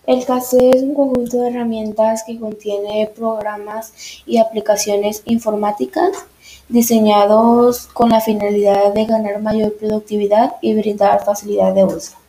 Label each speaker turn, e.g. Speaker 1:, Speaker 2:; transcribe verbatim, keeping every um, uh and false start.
Speaker 1: El C A S es un conjunto de herramientas que contiene programas y aplicaciones informáticas diseñados con la finalidad de ganar mayor productividad y brindar facilidad de uso.